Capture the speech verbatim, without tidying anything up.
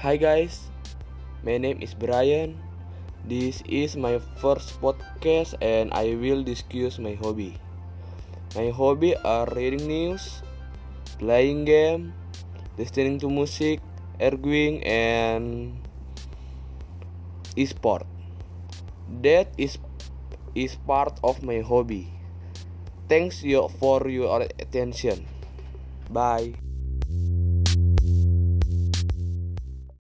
Hi guys, my name is Brian. This is my first podcast and I will discuss my hobby. My hobby are reading news, playing game, listening to music, arguing, and e-sport. That is is part of my hobby. Thanks you for your attention. Bye.